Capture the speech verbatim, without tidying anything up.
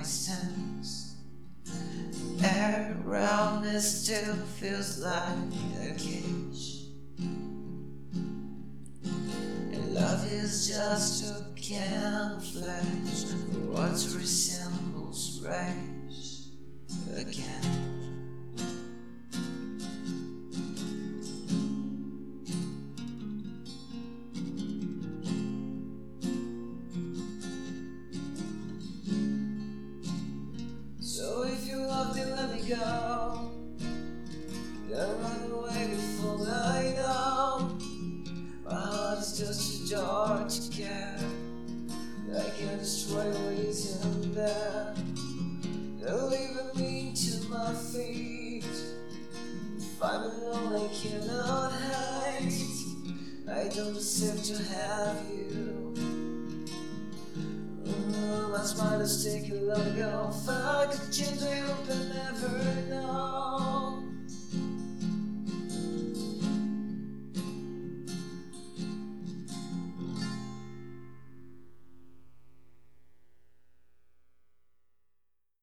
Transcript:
my stance. The air around me still feels like a cage, and love is just a camouflage for what resembles rage again. So if you love me, let me go. Don't run away before I know. My heart is just too dark to care. I can destroy what isn't there. Don't leave me to my feet. If I'm alone, I cannot hide. I don't deserve to have you. My smile is taken long ago. If I could change, I hope I never know.